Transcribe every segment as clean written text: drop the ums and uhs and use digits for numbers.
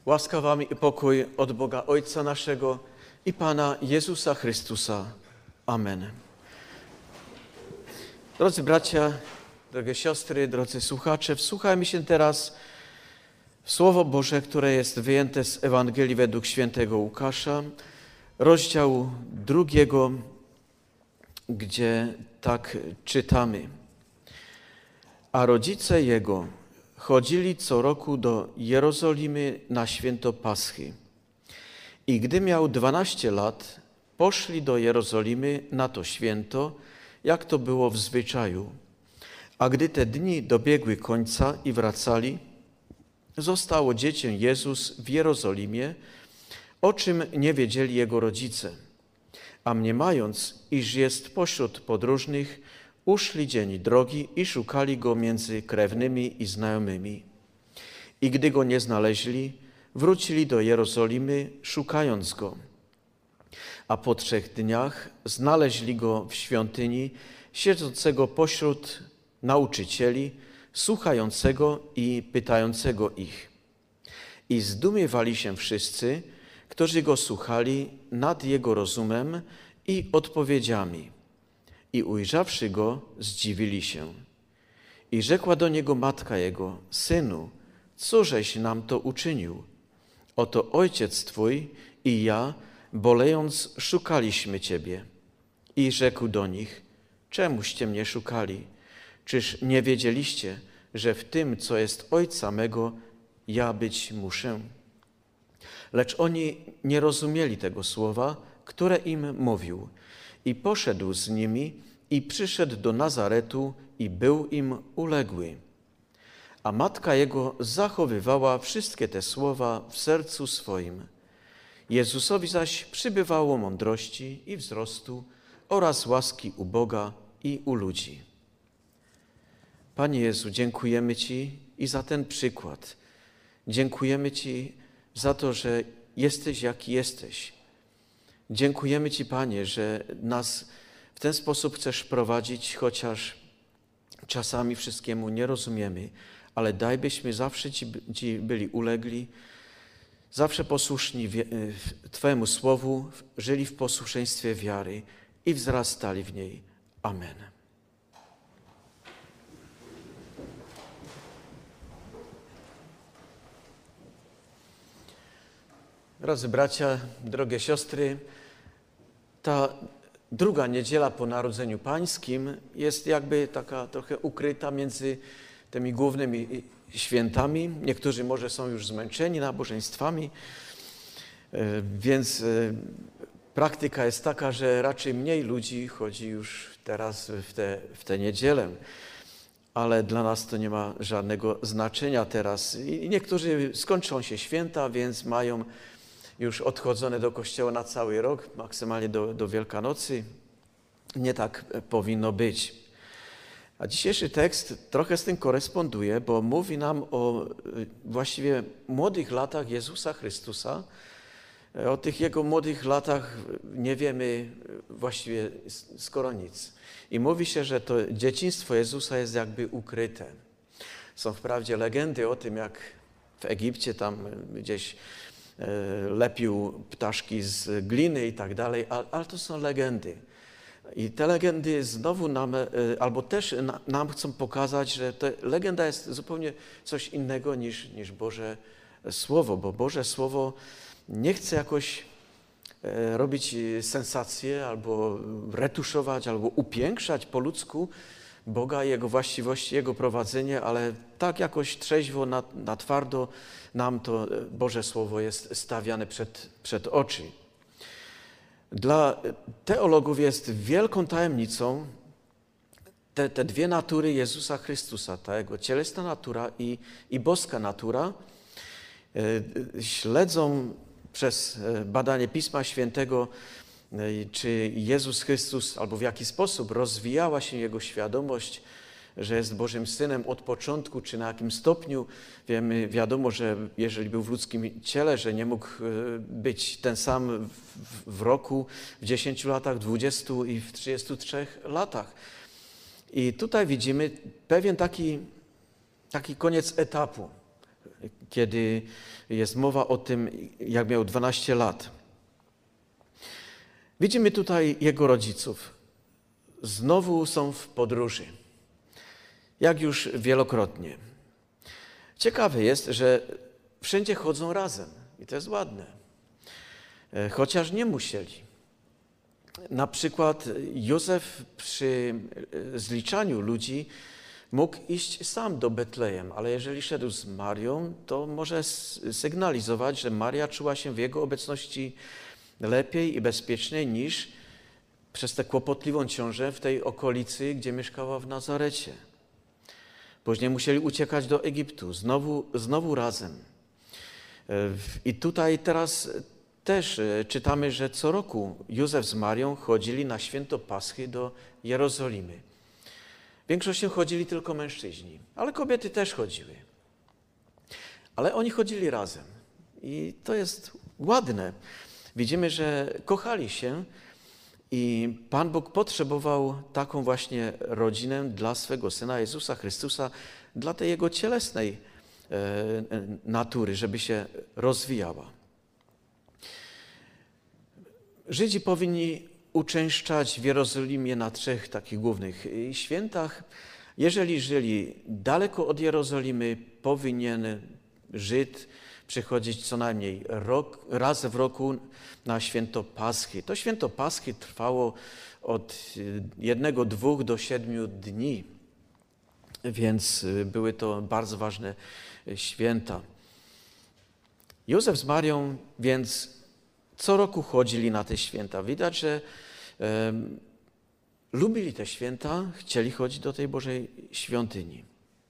Łaska wam i pokój od Boga Ojca naszego i Pana Jezusa Chrystusa. Amen. Drodzy bracia, drogie siostry, drodzy słuchacze, wsłuchajmy się teraz w Słowo Boże, które jest wyjęte z Ewangelii według świętego Łukasza, rozdziału 2, gdzie tak czytamy. A rodzice jego chodzili co roku do Jerozolimy na święto Paschy. I gdy miał 12 lat, poszli do Jerozolimy na to święto, jak to było w zwyczaju. A gdy te dni dobiegły końca i wracali, zostało dziecię Jezus w Jerozolimie, o czym nie wiedzieli jego rodzice. A mniemając, iż jest pośród podróżnych, uszli dzień drogi i szukali go między krewnymi i znajomymi. I gdy go nie znaleźli, wrócili do Jerozolimy, szukając go. A po 3 dniach znaleźli go w świątyni, siedzącego pośród nauczycieli, słuchającego i pytającego ich. I zdumiewali się wszyscy, którzy go słuchali, nad jego rozumem i odpowiedziami. I ujrzawszy go, zdziwili się. I rzekła do niego matka jego: Synu, cóżeś nam to uczynił? Oto ojciec twój i ja, bolejąc, szukaliśmy ciebie. I rzekł do nich: Czemuście mnie szukali? Czyż nie wiedzieliście, że w tym, co jest ojca mego, ja być muszę? Lecz oni nie rozumieli tego słowa, które im mówił. I poszedł z nimi i przyszedł do Nazaretu i był im uległy. A matka jego zachowywała wszystkie te słowa w sercu swoim. Jezusowi zaś przybywało mądrości i wzrostu oraz łaski u Boga i u ludzi. Panie Jezu, dziękujemy Ci i za ten przykład. Dziękujemy Ci za to, że jesteś jaki jesteś. Dziękujemy Ci, Panie, że nas w ten sposób chcesz prowadzić, chociaż czasami wszystkiemu nie rozumiemy, ale daj, byśmy zawsze Ci byli ulegli, zawsze posłuszni Twojemu Słowu, żyli w posłuszeństwie wiary i wzrastali w niej. Amen. Drodzy bracia, drogie siostry, ta druga niedziela po Narodzeniu Pańskim jest jakby taka trochę ukryta między tymi głównymi świętami. Niektórzy może są już zmęczeni nabożeństwami, więc praktyka jest taka, że raczej mniej ludzi chodzi już teraz w tę niedzielę. Ale dla nas to nie ma żadnego znaczenia teraz. I niektórzy skończą się święta, więc mają już odchodzone do kościoła na cały rok, maksymalnie do Wielkanocy. Nie tak powinno być. A dzisiejszy tekst trochę z tym koresponduje, bo mówi nam o właściwie młodych latach Jezusa Chrystusa. O tych Jego młodych latach nie wiemy właściwie skoro nic. I mówi się, że to dzieciństwo Jezusa jest jakby ukryte. Są wprawdzie legendy o tym, jak w Egipcie tam gdzieś lepił ptaszki z gliny i tak dalej, ale to są legendy. I te legendy znowu nam, albo też nam chcą pokazać, że ta legenda jest zupełnie coś innego niż Boże Słowo, bo Boże Słowo nie chce jakoś robić sensację, albo retuszować, albo upiększać po ludzku Boga, Jego właściwości, Jego prowadzenie, ale tak jakoś trzeźwo, na twardo nam to Boże Słowo jest stawiane przed oczy. Dla teologów jest wielką tajemnicą te dwie natury Jezusa Chrystusa, ta Jego cielesna natura i boska natura. Śledzą przez badanie Pisma Świętego, czy Jezus Chrystus, albo w jaki sposób rozwijała się Jego świadomość, że jest Bożym Synem od początku, czy na jakim stopniu. Wiadomo, że jeżeli był w ludzkim ciele, że nie mógł być ten sam w roku, w 10 latach, 20 i w 33 latach. I tutaj widzimy pewien taki koniec etapu. kiedy jest mowa o tym, jak miał 12 lat. Widzimy tutaj jego rodziców. Znowu są w podróży, jak już wielokrotnie. Ciekawe jest, że wszędzie chodzą razem i to jest ładne, chociaż nie musieli. Na przykład Józef przy zliczaniu ludzi mógł iść sam do Betlejem, ale jeżeli szedł z Marią, to może sygnalizować, że Maria czuła się w jego obecności lepiej i bezpieczniej niż przez tę kłopotliwą ciążę w tej okolicy, gdzie mieszkała w Nazarecie. Później musieli uciekać do Egiptu, znowu razem. I tutaj teraz też czytamy, że co roku Józef z Marią chodzili na święto Paschy do Jerozolimy. Większością chodzili tylko mężczyźni, ale kobiety też chodziły. Ale oni chodzili razem i to jest ładne. Widzimy, że kochali się i Pan Bóg potrzebował taką właśnie rodzinę dla swego Syna Jezusa Chrystusa, dla tej Jego cielesnej natury, żeby się rozwijała. Żydzi powinni uczęszczać w Jerozolimie na 3 takich głównych świętach. Jeżeli żyli daleko od Jerozolimy, powinien Żyd przychodzić co najmniej raz w roku na święto Paschy. To święto Paschy trwało od 1, 2 do 7 dni, więc były to bardzo ważne święta. Józef z Marią więc co roku chodzili na te święta. Widać, że lubili te święta, chcieli chodzić do tej Bożej świątyni.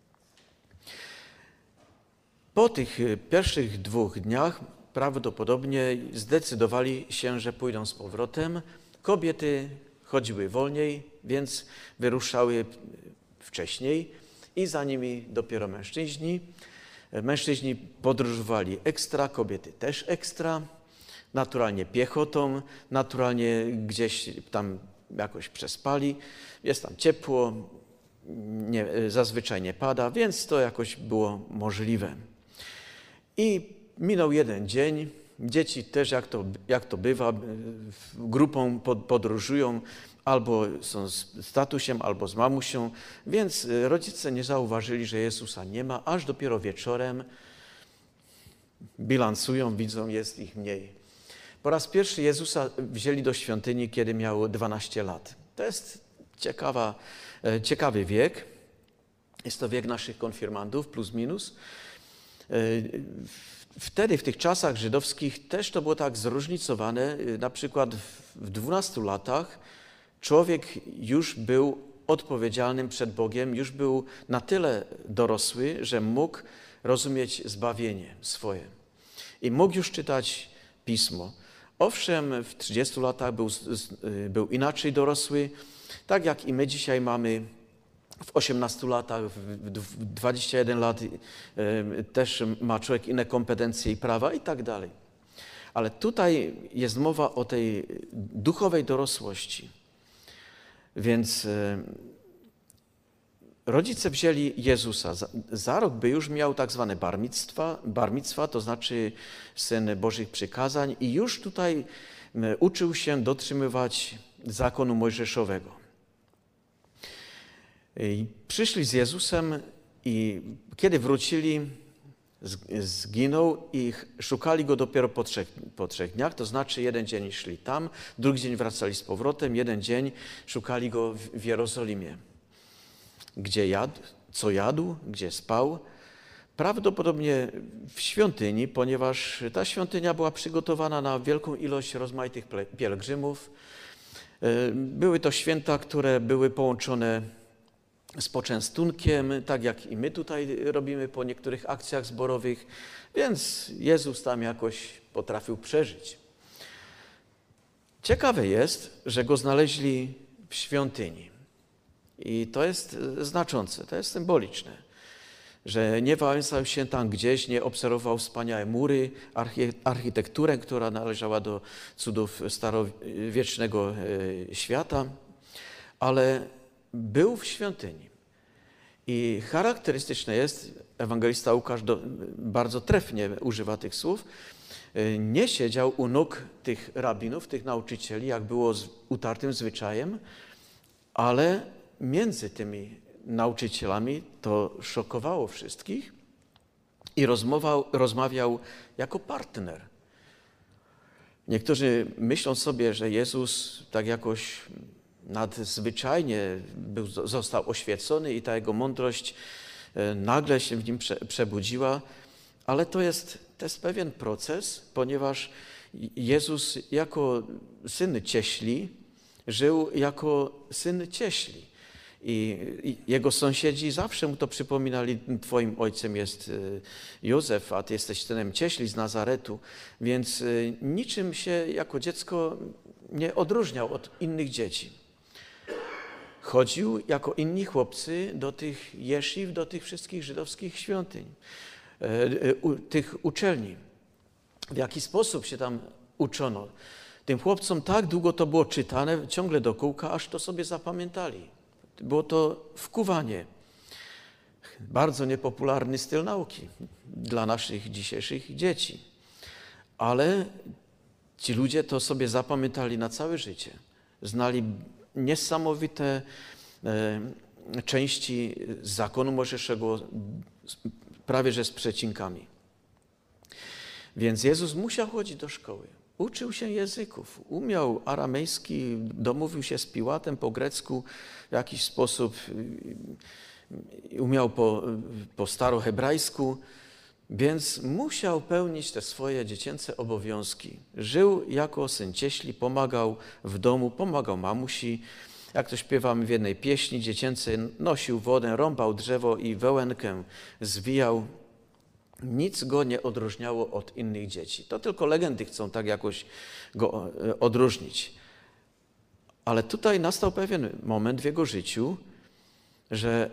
Po tych pierwszych 2 dniach prawdopodobnie zdecydowali się, że pójdą z powrotem. Kobiety chodziły wolniej, więc wyruszały wcześniej i za nimi dopiero mężczyźni. Mężczyźni podróżowali ekstra, kobiety też ekstra. Naturalnie piechotą, naturalnie gdzieś tam jakoś przespali. Jest tam ciepło, zazwyczaj nie pada, więc to jakoś było możliwe. I minął 1 dzień. Dzieci też, jak to bywa, grupą podróżują, albo są z tatusiem, albo z mamusią, więc rodzice nie zauważyli, że Jezusa nie ma, aż dopiero wieczorem bilansują, widzą, jest ich mniej. Po raz pierwszy Jezusa wzięli do świątyni, kiedy miał 12 lat. To jest ciekawy wiek. Jest to wiek naszych konfirmandów, plus minus. Wtedy, w tych czasach żydowskich też to było tak zróżnicowane. Na przykład w 12 latach człowiek już był odpowiedzialnym przed Bogiem, już był na tyle dorosły, że mógł rozumieć zbawienie swoje. I mógł już czytać Pismo. Owszem, w 30 latach był inaczej dorosły, tak jak i my dzisiaj mamy w 18 latach, w 21 lat też ma człowiek inne kompetencje i prawa i tak dalej. Ale tutaj jest mowa o tej duchowej dorosłości. Więc rodzice wzięli Jezusa. Za rok by już miał tak zwane bar micwa, to znaczy Syn Bożych Przykazań i już tutaj uczył się dotrzymywać zakonu mojżeszowego. I przyszli z Jezusem i kiedy wrócili, zginął i szukali Go dopiero po 3 dniach, to znaczy 1 dzień szli tam, drugi dzień wracali z powrotem, 1 dzień szukali Go w Jerozolimie. Gdzie jadł, co jadł, gdzie spał. Prawdopodobnie w świątyni, ponieważ ta świątynia była przygotowana na wielką ilość rozmaitych pielgrzymów. Były to święta, które były połączone z poczęstunkiem, tak jak i my tutaj robimy po niektórych akcjach zborowych, więc Jezus tam jakoś potrafił przeżyć. Ciekawe jest, że Go znaleźli w świątyni. I to jest znaczące, to jest symboliczne, że nie wałęsał się tam gdzieś, nie obserwował wspaniałe mury, architekturę, która należała do cudów starowiecznego świata, ale był w świątyni. I charakterystyczne jest, ewangelista Łukasz bardzo trefnie używa tych słów, nie siedział u nóg tych rabinów, tych nauczycieli, jak było utartym zwyczajem, ale między tymi nauczycielami to szokowało wszystkich i rozmawiał jako partner. Niektórzy myślą sobie, że Jezus tak jakoś nadzwyczajnie został oświecony i ta jego mądrość nagle się w nim przebudziła, ale to jest pewien proces, ponieważ Jezus jako syn cieśli żył jako syn cieśli. I jego sąsiedzi zawsze mu to przypominali, twoim ojcem jest Józef, a ty jesteś synem cieśli z Nazaretu, więc niczym się jako dziecko nie odróżniał od innych dzieci. Chodził jako inni chłopcy do tych jesziw, do tych wszystkich żydowskich świątyń, tych uczelni. W jaki sposób się tam uczono? Tym chłopcom tak długo to było czytane, ciągle do kółka, aż to sobie zapamiętali. Było to wkuwanie. Bardzo niepopularny styl nauki dla naszych dzisiejszych dzieci. Ale ci ludzie to sobie zapamiętali na całe życie. Znali niesamowite części zakonu mojżeszego, prawie że z przecinkami. Więc Jezus musiał chodzić do szkoły. Uczył się języków, umiał aramejski, domówił się z Piłatem po grecku w jakiś sposób, umiał po starohebrajsku, więc musiał pełnić te swoje dziecięce obowiązki. Żył jako syn cieśli, pomagał w domu, pomagał mamusi. Jak to śpiewamy w jednej pieśni dziecięcej, nosił wodę, rąbał drzewo i wełenkę zwijał. Nic go nie odróżniało od innych dzieci. To tylko legendy chcą tak jakoś go odróżnić. Ale tutaj nastał pewien moment w jego życiu, że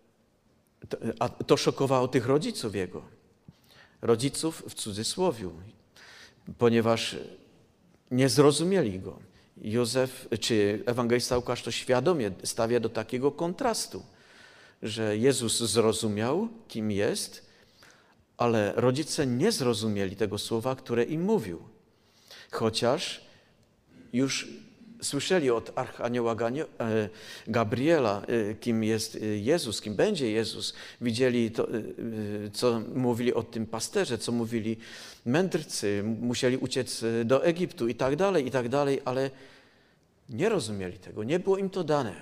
to szokowało tych rodziców jego. Rodziców w cudzysłowiu, ponieważ nie zrozumieli go. Józef, czy ewangelista Łukasz to świadomie stawia do takiego kontrastu, że Jezus zrozumiał, kim jest, ale rodzice nie zrozumieli tego słowa, które im mówił. Chociaż już słyszeli od archanioła Gabriela, kim jest Jezus, kim będzie Jezus. Widzieli to, co mówili o tym pasterze, co mówili mędrcy. Musieli uciec do Egiptu i tak dalej, ale nie rozumieli tego, nie było im to dane.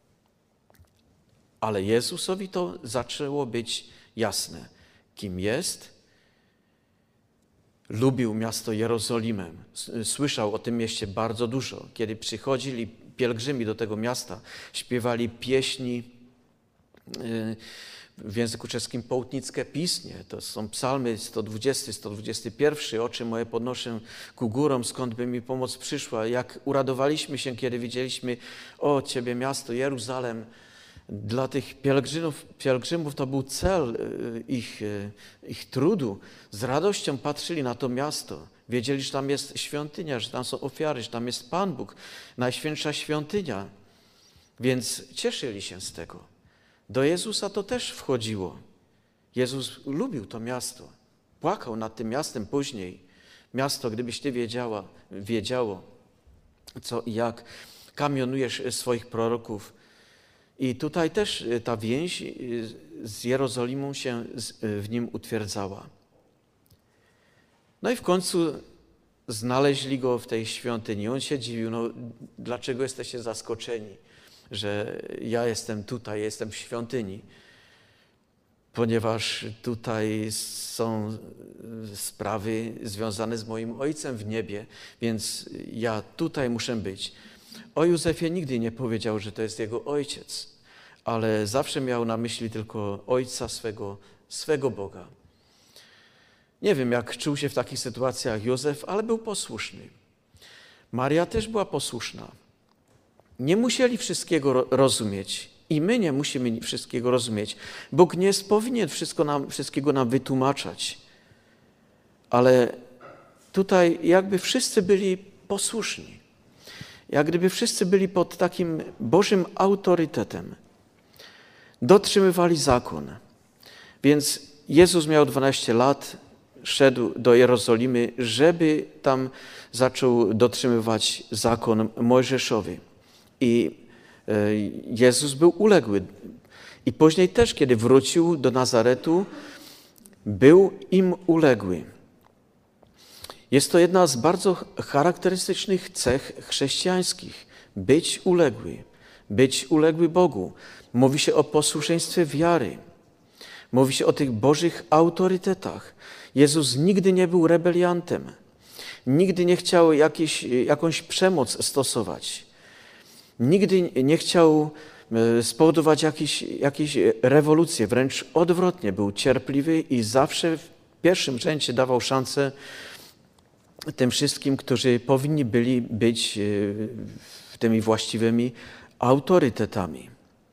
Ale Jezusowi to zaczęło być jasne, kim jest. Lubił miasto Jerozolimę. Słyszał o tym mieście bardzo dużo. Kiedy przychodzili pielgrzymi do tego miasta, śpiewali pieśni w języku czeskim poutnickie pisnie. To są psalmy 120, 121. Oczy moje podnoszę ku górom, skąd by mi pomoc przyszła. Jak uradowaliśmy się, kiedy widzieliśmy, o Ciebie miasto, Jeruzalem. Dla tych pielgrzymów to był cel ich trudu. Z radością patrzyli na to miasto. Wiedzieli, że tam jest świątynia, że tam są ofiary, że tam jest Pan Bóg, najświętsza świątynia. Więc cieszyli się z tego. Do Jezusa to też wchodziło. Jezus lubił to miasto. Płakał nad tym miastem później. Miasto, gdybyś Ty wiedziało, co i jak kamionujesz swoich proroków. I tutaj też ta więź z Jerozolimą się w nim utwierdzała. No i w końcu znaleźli go w tej świątyni. On się dziwił, no dlaczego jesteście zaskoczeni, że ja jestem tutaj, jestem w świątyni, ponieważ tutaj są sprawy związane z moim Ojcem w niebie, więc ja tutaj muszę być. O Józefie nigdy nie powiedział, że to jest jego ojciec, ale zawsze miał na myśli tylko ojca swego Boga. Nie wiem, jak czuł się w takich sytuacjach Józef, ale był posłuszny. Maria też była posłuszna. Nie musieli wszystkiego rozumieć i my nie musimy wszystkiego rozumieć. Bóg nie powinien wszystkiego nam wytłumaczać, ale tutaj jakby wszyscy byli posłuszni. Jak gdyby wszyscy byli pod takim Bożym autorytetem. dotrzymywali zakon. Więc Jezus miał 12 lat, szedł do Jerozolimy, żeby tam zaczął dotrzymywać zakon mojżeszowy. I Jezus był uległy. I później też, kiedy wrócił do Nazaretu, był im uległy. Jest to jedna z bardzo charakterystycznych cech chrześcijańskich. Być uległy Bogu. Mówi się o posłuszeństwie wiary. Mówi się o tych bożych autorytetach. Jezus nigdy nie był rebeliantem. Nigdy nie chciał jakąś przemoc stosować. Nigdy nie chciał spowodować jakiejś rewolucji. Wręcz odwrotnie, był cierpliwy i zawsze w pierwszym rzędzie dawał szansę tym wszystkim, którzy powinni byli być tymi właściwymi autorytetami.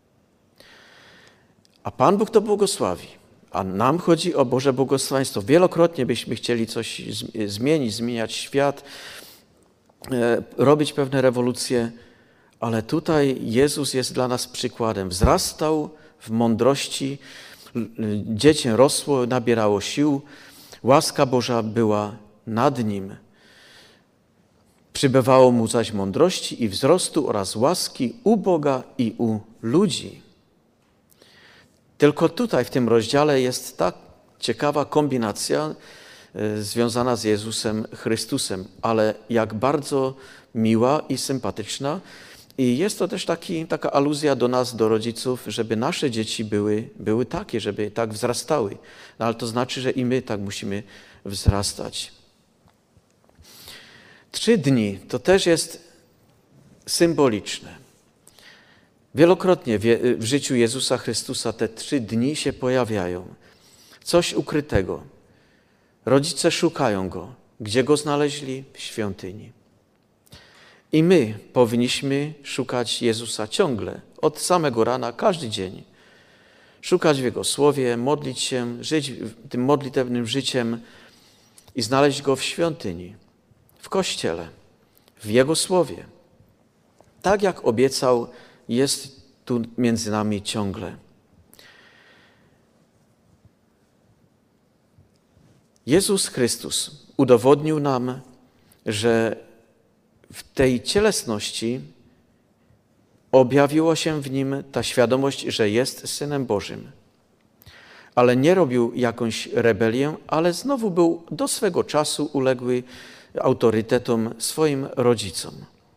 A Pan Bóg to błogosławi. A nam chodzi o Boże błogosławieństwo. Wielokrotnie byśmy chcieli coś zmieniać świat, robić pewne rewolucje, ale tutaj Jezus jest dla nas przykładem. Wzrastał w mądrości, dziecię rosło, nabierało sił, łaska Boża była nad nim. Przybywało mu zaś mądrości i wzrostu oraz łaski u Boga i u ludzi. Tylko tutaj w tym rozdziale jest tak ciekawa kombinacja związana z Jezusem Chrystusem, ale jak bardzo miła i sympatyczna. I jest to też taka aluzja do nas, do rodziców, żeby nasze dzieci były takie, żeby tak wzrastały. No, ale to znaczy, że i my tak musimy wzrastać. 3 dni to też jest symboliczne. Wielokrotnie w życiu Jezusa Chrystusa te 3 dni się pojawiają. Coś ukrytego. Rodzice szukają Go. Gdzie Go znaleźli? W świątyni. I my powinniśmy szukać Jezusa ciągle, od samego rana, każdy dzień. Szukać w Jego Słowie, modlić się, żyć tym modlitewnym życiem i znaleźć Go w świątyni, w Kościele, w Jego Słowie. Tak jak obiecał, jest tu między nami ciągle. Jezus Chrystus udowodnił nam, że w tej cielesności objawiła się w Nim ta świadomość, że jest Synem Bożym. Ale nie robił jakąś rebelię, ale znowu był do swego czasu uległy autorytetom swoim rodzicom.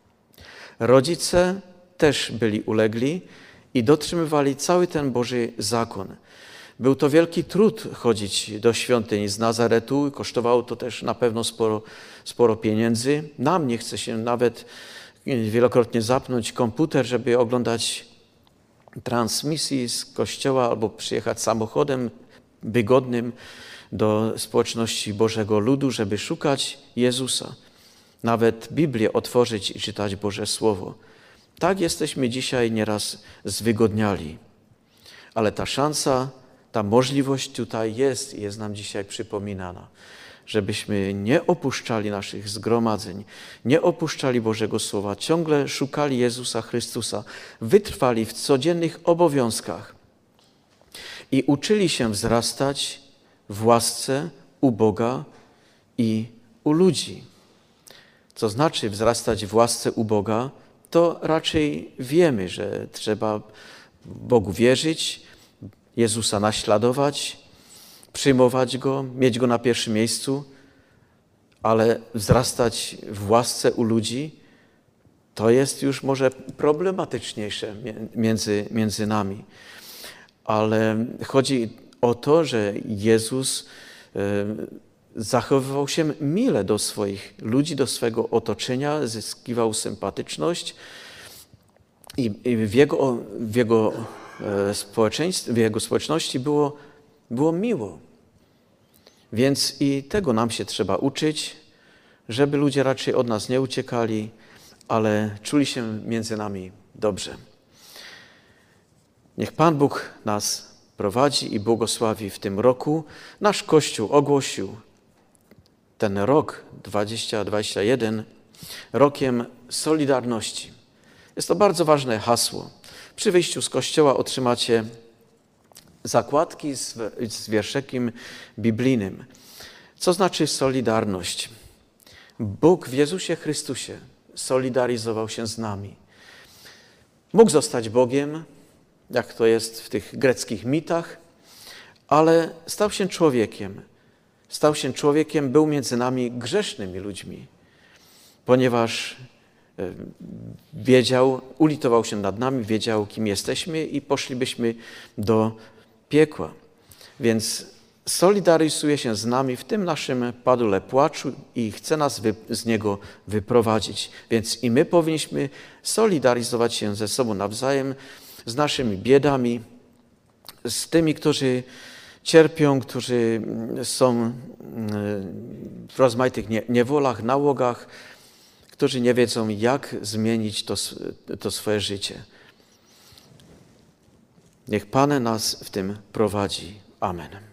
Rodzice też byli ulegli i dotrzymywali cały ten Boży zakon. Był to wielki trud chodzić do świątyni z Nazaretu, kosztowało to też na pewno sporo pieniędzy. Nam nie chce się nawet wielokrotnie zapnąć komputer, żeby oglądać transmisji z kościoła albo przyjechać samochodem wygodnym do społeczności Bożego Ludu, żeby szukać Jezusa. Nawet Biblię otworzyć i czytać Boże Słowo. Tak jesteśmy dzisiaj nieraz zwygodniali. Ale ta szansa, ta możliwość tutaj jest nam dzisiaj przypominana, żebyśmy nie opuszczali naszych zgromadzeń, nie opuszczali Bożego Słowa, ciągle szukali Jezusa Chrystusa, wytrwali w codziennych obowiązkach i uczyli się wzrastać w łasce u Boga i u ludzi. Co znaczy wzrastać w łasce u Boga, to raczej wiemy, że trzeba Bogu wierzyć, Jezusa naśladować, przyjmować Go, mieć Go na pierwszym miejscu, ale wzrastać w łasce u ludzi, to jest już może problematyczniejsze między nami. Ale chodzi o to, że Jezus zachowywał się mile do swoich ludzi, do swego otoczenia, zyskiwał sympatyczność i w jego społeczeństwie, w jego społeczności było miło. Więc i tego nam się trzeba uczyć, żeby ludzie raczej od nas nie uciekali, ale czuli się między nami dobrze. Niech Pan Bóg nas prowadzi i błogosławi w tym roku. Nasz Kościół ogłosił ten rok 2021 rokiem Solidarności. Jest to bardzo ważne hasło. Przy wyjściu z kościoła otrzymacie zakładki z wierszykiem biblijnym. Co znaczy solidarność? Bóg w Jezusie Chrystusie solidaryzował się z nami. Mógł zostać Bogiem, jak to jest w tych greckich mitach, ale stał się człowiekiem. Stał się człowiekiem, był między nami grzesznymi ludźmi, ponieważ wiedział, ulitował się nad nami, wiedział, kim jesteśmy i poszlibyśmy do piekła. Więc solidaryzuje się z nami w tym naszym padule płaczu i chce nas z niego wyprowadzić. Więc i my powinniśmy solidaryzować się ze sobą nawzajem, z naszymi biedami, z tymi, którzy cierpią, którzy są w rozmaitych niewolach, nałogach, którzy nie wiedzą, jak zmienić to swoje życie. Niech Pan nas w tym prowadzi. Amen.